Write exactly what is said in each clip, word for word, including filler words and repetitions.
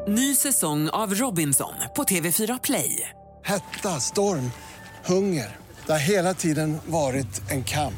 Ny säsong av Robinson på T V fyra Play. Hetta, storm, hunger. Det har hela tiden varit en kamp.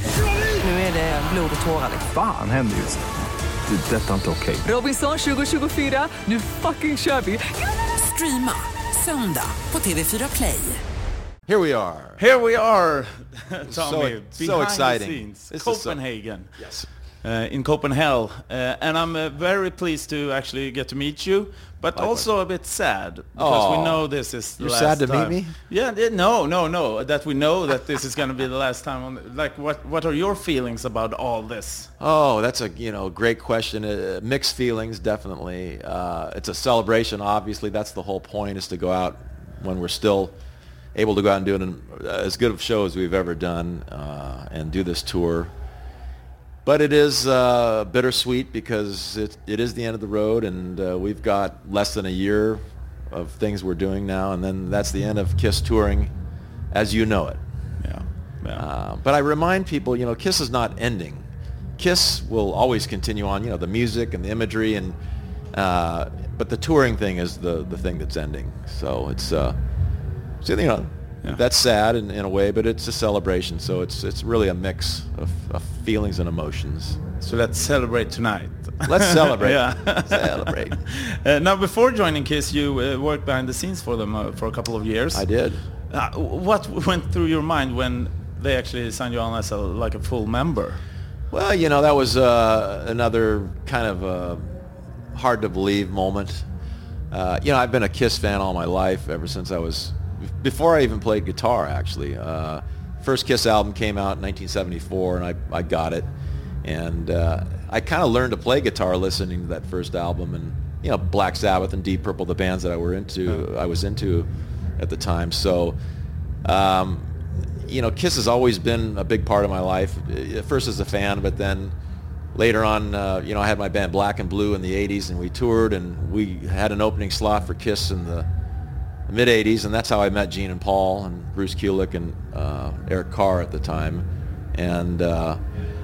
Nu är det blod och tårar. Fan händer just nu. Det. Detta är inte okej. Robinson tjugo tjugofyra, nu fucking kör vi. Streama söndag på T V fyra Play. Here we are. Here we are, Tommy. So, so behind exciting. The scenes, This Copenhagen. Is so, yes. Uh, in Copenhagen, uh, and I'm uh, very pleased to actually get to meet you, but Likewise. Also a bit sad because Aww. we know this is the You're last sad to time. meet me? Yeah, th- no, no, no. That we know that this is going to be the last time. On the, like, what what are your feelings about all this? Oh, that's a you know great question. Uh, mixed feelings, definitely. Uh, it's a celebration. Obviously, that's the whole point: is to go out when we're still able to go out and do an, uh, as good of a show as we've ever done, uh, and do this tour. But it is uh, bittersweet because it, it is the end of the road, and uh, we've got less than a year of things we're doing now, and then that's the end of KISS touring as you know it. Yeah. yeah. Uh, but I remind people, you know, KISS is not ending. KISS will always continue on, you know, the music and the imagery, and uh, but the touring thing is the, the thing that's ending. So it's, uh, so, you know, yeah. That's sad in, in a way, but it's a celebration. So it's it's really a mix of, of feelings and emotions. So let's celebrate tonight. Let's celebrate. yeah. Celebrate. Uh, now, before joining KISS, you uh, worked behind the scenes for them uh, for a couple of years. I did. Uh, what went through your mind when they actually signed you on as a, like a full member? Well, you know, that was uh, another kind of uh, hard to believe moment. Uh, you know, I've been a KISS fan all my life, ever since I was, before I even played guitar, actually. Uh, first KISS album came out in nineteen seventy-four, and I, I got it. And uh, I kind of learned to play guitar listening to that first album, and, you know, Black Sabbath and Deep Purple, the bands that I were into, I was into at the time. So, um, you know, KISS has always been a big part of my life. At first as a fan, but then later on, uh, you know, I had my band Black and Blue in the eighties, and we toured, and we had an opening slot for KISS in the mid-eighties, and that's how I met Gene and Paul and Bruce Kulick and uh, Eric Carr at the time. And uh,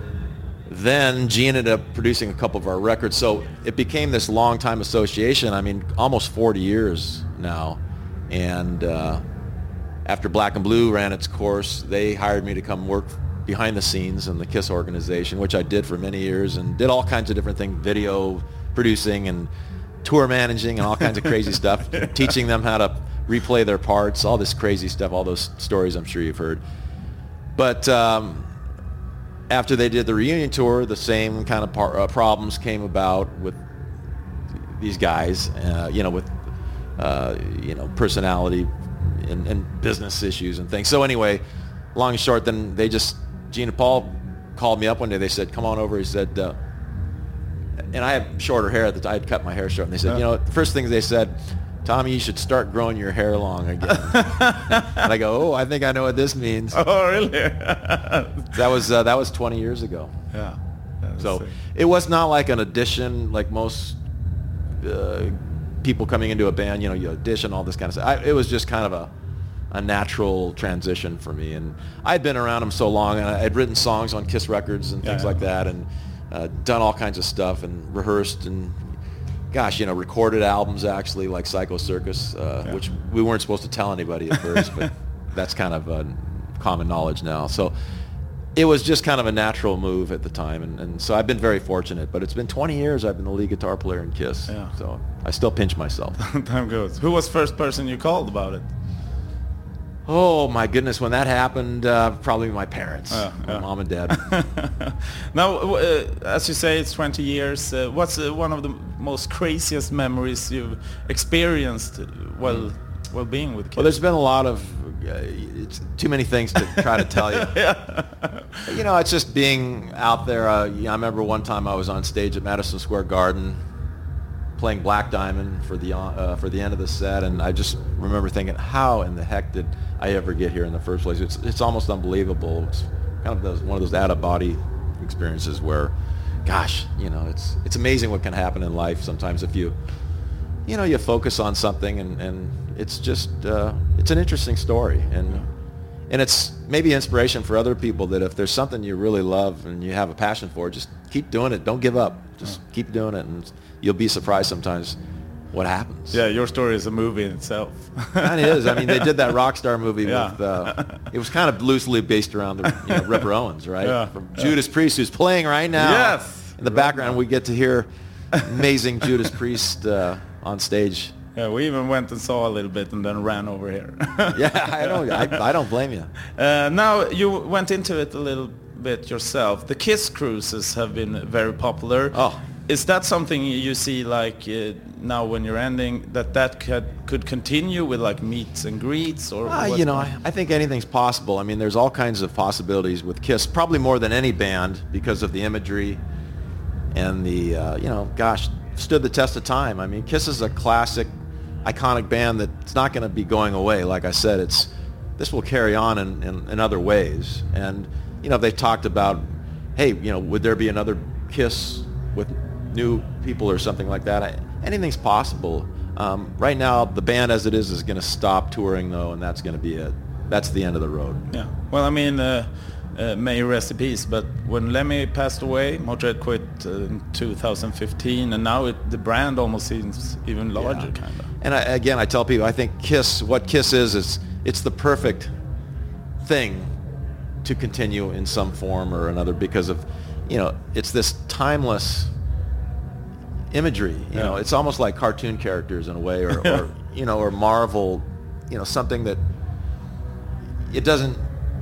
then Gene ended up producing a couple of our records, so it became this long-time association. I mean, almost forty years now. And uh, after Black and Blue ran its course, they hired me to come work behind the scenes in the KISS organization, which I did for many years, and did all kinds of different things, video producing and tour managing and all kinds of crazy stuff, teaching them how to replay their parts, all this crazy stuff, all those stories I'm sure you've heard. But um, after they did the reunion tour, the same kind of par- uh, problems came about with these guys, uh, you know, with, uh, you know, personality and, and business issues and things. So anyway, long and short, then they just, Gene and Paul called me up one day. They said, come on over. He said, uh, and I had shorter hair at the time. I had cut my hair short. And they said, uh. you know, the first thing they said, Tommy, you should start growing your hair long again. And I go, oh, I think I know what this means. Oh, really? that was uh, that was twenty years ago. Yeah. So sick. It was not like an audition, like most uh, people coming into a band. You know, you audition, all this kind of stuff. I, it was just kind of a a natural transition for me. And I'd been around them so long, and I'd written songs on KISS records and things yeah, yeah. like that, and uh, done all kinds of stuff and rehearsed and, gosh, you know, recorded albums actually, like Psycho Circus, uh, yeah. which we weren't supposed to tell anybody at first, but that's kind of uh, common knowledge now. So it was just kind of a natural move at the time, and, and so I've been very fortunate. But it's been twenty years I've been the lead guitar player in KISS, yeah. so I still pinch myself. Time goes. Who was the first person you called about it? Oh my goodness, when that happened, uh, probably my parents, uh, my yeah. mom and dad. Now, uh, as you say, it's twenty years. Uh, what's uh, one of the most craziest memories you've experienced while while being with KISS? Well, there's been a lot of, uh, it's too many things to try to tell you. yeah. You know, it's just being out there. Uh, yeah, I remember one time I was on stage at Madison Square Garden playing Black Diamond for the uh, for the end of the set, and I just remember thinking, how in the heck did I ever get here in the first place? It's it's almost unbelievable. It's kind of those, one of those out-of-body experiences where, gosh, you know, it's it's amazing what can happen in life sometimes if you, you know, you focus on something, and, and it's just, uh, it's an interesting story, and yeah. and it's maybe inspiration for other people that if there's something you really love and you have a passion for, just keep doing it. Don't give up. Just yeah. keep doing it, and you'll be surprised sometimes what happens. Yeah, your story is a movie in itself. It is. I mean, they did that Rockstar movie Yeah. with, uh, it was kind of loosely based around the you know, Ripper Owens, right? Yeah. From Judas Priest, who's playing right now. Yes. In the background, we get to hear amazing Judas Priest uh, on stage. Yeah, we even went and saw a little bit and then ran over here. Yeah, I don't, I, I don't blame you. Uh, now, you went into it a little bit yourself. The Kiss cruises have been very popular. Oh. Is that something you see, like, uh, now when you're ending, that that could, could continue with, like, meets and greets? Or Uh, what? you know, I, I think anything's possible. I mean, there's all kinds of possibilities with Kiss, probably more than any band because of the imagery and the, uh, you know, gosh, stood the test of time. I mean, Kiss is a classic, iconic band that's not going to be going away. Like I said, it's this will carry on in, in, in other ways. And, you know, they've talked about, hey, you know, would there be another Kiss with new people or something like that? I, anything's possible. Um, right now, the band as it is is going to stop touring, though, and that's going to be it. That's the end of the road. Yeah. Well, I mean, uh, uh, may you rest in peace, but when Lemmy passed away, Motörhead quit uh, in two thousand fifteen, and now it, the brand almost seems even larger, Yeah. kind of. And I, again, I tell people, I think Kiss, what Kiss is, is it's the perfect thing to continue in some form or another because of, you know, it's this timeless imagery. You Yeah. know, it's almost like cartoon characters in a way, or, Yeah. or you know, or Marvel, you know, something that it doesn't,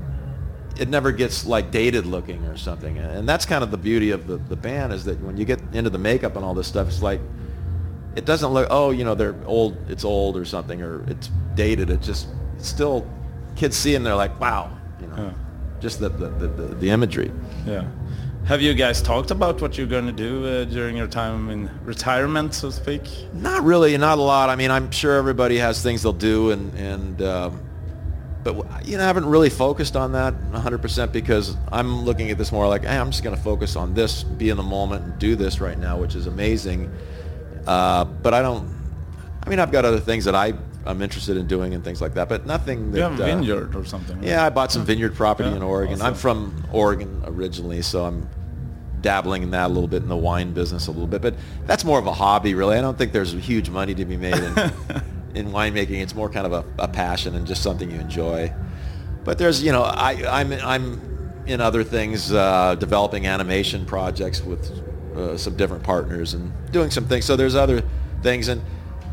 it never gets like dated looking or something. And that's kind of the beauty of the, the band, is that when you get into the makeup and all this stuff, it's like, it doesn't look, oh, you know, they're old, it's old or something, or it's dated. It just, it's still, kids see it and they're like, wow, you know, Yeah. just the, the, the, the, the imagery. Yeah. Have you guys talked about what you're going to do uh, during your time in retirement, so to speak? Not really, not a lot. I mean, I'm sure everybody has things they'll do, and, and um, but, you know, I haven't really focused on that one hundred percent because I'm looking at this more like, hey, I'm just going to focus on this, be in the moment, and do this right now, which is amazing. Uh, but I don't, I mean, I've got other things that I, I'm interested in doing and things like that, but nothing that... You have a uh, vineyard or something? Right? Yeah, I bought some vineyard property Yeah, in Oregon. awesome. I'm from Oregon originally, so I'm dabbling in that a little bit, in the wine business a little bit. But that's more of a hobby, really. I don't think there's huge money to be made in, in winemaking. It's more kind of a, a passion and just something you enjoy. But there's, you know, I, I'm, I'm in other things, uh, developing animation projects with uh, some different partners and doing some things. So there's other things. And,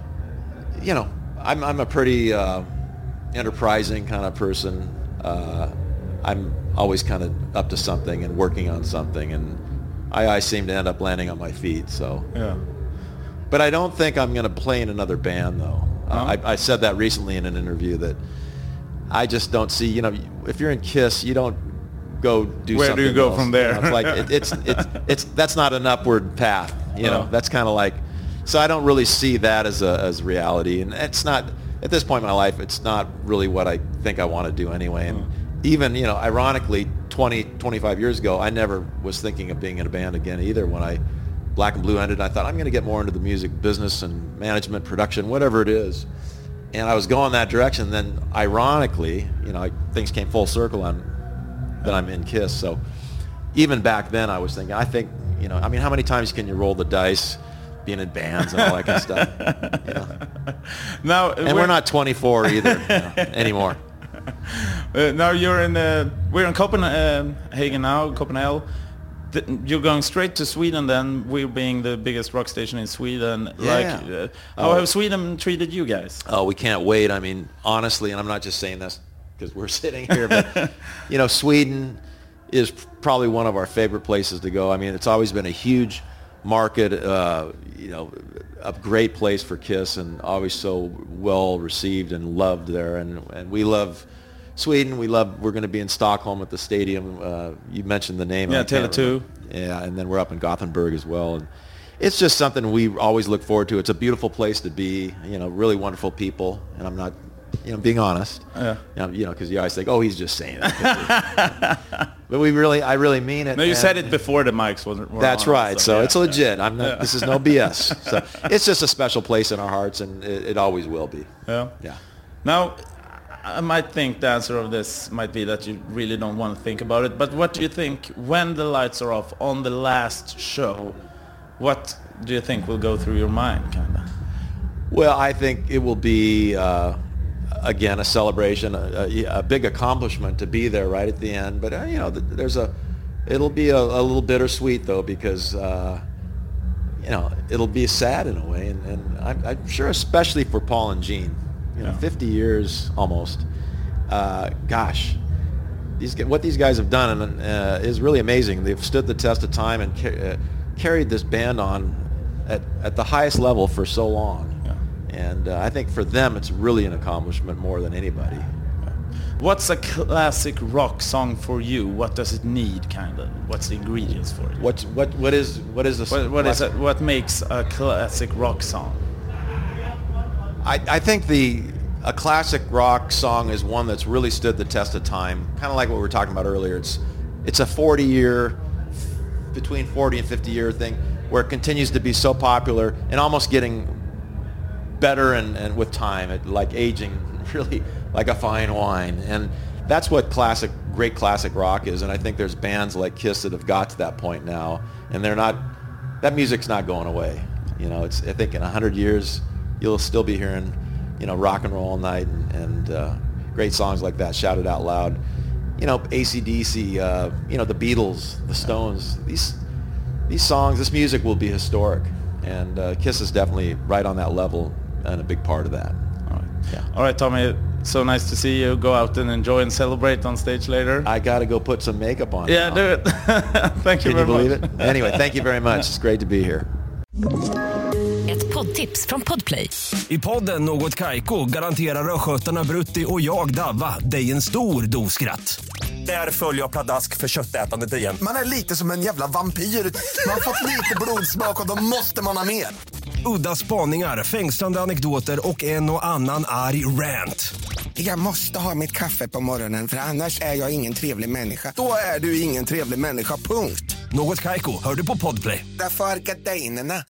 you know, I'm, I'm a pretty uh, enterprising kind of person. Uh, I'm always kind of up to something and working on something, and I, I seem to end up landing on my feet. So, Yeah. but I don't think I'm going to play in another band, though. No? Uh, I, I said that recently in an interview that I just don't see. You know, if you're in Kiss, you don't go do. Where do something you go else. from there? You know, it's like it, it's it's it's that's not an upward path. You know, No. that's kind of like. So I don't really see that as a as reality, and it's not at this point in my life. It's not really what I think I want to do anyway. And even, you know, ironically, twenty, twenty-five years ago, I never was thinking of being in a band again either. When I Black and Blue ended, I thought I'm going to get more into the music business and management, production, whatever it is. And I was going that direction. Then, ironically, you know, I, things came full circle on that I'm in Kiss. So even back then, I was thinking, I think, you know, I mean, how many times can you roll the dice? Being in bands and all that kind of stuff. You know. Now, And we're not twenty-four either you know, anymore. Uh, now you're in uh, we're in Copenhagen now, Copenhagen. Th- You're going straight to Sweden then, we're being the biggest rock station in Sweden. Yeah. Like, uh, how Oh. have Sweden treated you guys? Oh, we can't wait. I mean, honestly, and I'm not just saying this because we're sitting here, but, you know, Sweden is probably one of our favorite places to go. I mean, it's always been a huge market, uh, you know, a great place for Kiss, and always so well received and loved there. And, and we love Sweden. We love. We're going to be in Stockholm at the stadium. Uh, you mentioned the name. Yeah, I can't Tele two. remember. Yeah, and then we're up in Gothenburg as well. And it's just something we always look forward to. It's a beautiful place to be. You know, really wonderful people. And I'm not, you know, being honest. Yeah. You know, you know, because you always think, oh, he's just saying that. But we really, I really mean it. No, you and- said it before the mics wasn't. were That's on, right. So yeah, it's legit. I'm not. Yeah. This is no B S. So it's just a special place in our hearts, and it, it always will be. Yeah. Yeah. Now, I might think the answer of this might be that you really don't want to think about it, but what do you think when the lights are off on the last show? What do you think will go through your mind, kind of? Well, I think it will be, uh, again, a celebration, a, a, a big accomplishment to be there right at the end. But, uh, you know, there's a, it'll be a, a little bittersweet, though, because, uh, you know, it'll be sad in a way. And, and I'm, I'm sure especially for Paul and Gene, you know, yeah. fifty years almost. Uh, gosh, these, what these guys have done uh, is really amazing. They've stood the test of time and ca- uh, carried this band on at, at the highest level for so long. And uh, I think for them, it's really an accomplishment more than anybody. What's a classic rock song for you? What does it need, kind of? What's the ingredients for it? What's what? What is what is the what, what is it? What makes a classic rock song? I, I think the a classic rock song is one that's really stood the test of time. Kind of like what we were talking about earlier. It's it's a forty year, between forty and fifty year thing, where it continues to be so popular and almost getting better and, and with time, it, like aging, really like a fine wine. And that's what classic, great classic rock is. And I think there's bands like Kiss that have got to that point now, and they're not, that music's not going away. You know, it's, I think in a hundred years, you'll still be hearing, you know, rock and roll all night and, and uh, great songs like that shouted out loud. You know, A C D C, uh, you know, the Beatles, the Stones, these, these songs, this music will be historic. And uh, Kiss is definitely right on that level and a big part of that. All right. Yeah. All right, Tommy, so nice to see you. Go out and enjoy and celebrate on stage later. I got to go put some makeup on. Yeah, now. do it. Thank you Can very you believe much. it? Anyway, thank you very much. It's great to be here. Ett poddtips från Podplay. I podden Något Kaiko garanterar röskötarna Brutti och jag Davva dig en stor doskratt. Där följer jag pladask för köttätandet igen. Man är lite som en jävla vampyr. Man har fått lite blodsmak och då måste man ha mer. Udda spaningar, fängslande anekdoter och en och annan arg rant. Jag måste ha mitt kaffe på morgonen för annars är jag ingen trevlig människa. Då är du ingen trevlig människa, punkt. Något Kaiko, hör du på Podplay. Därför är gardinerna.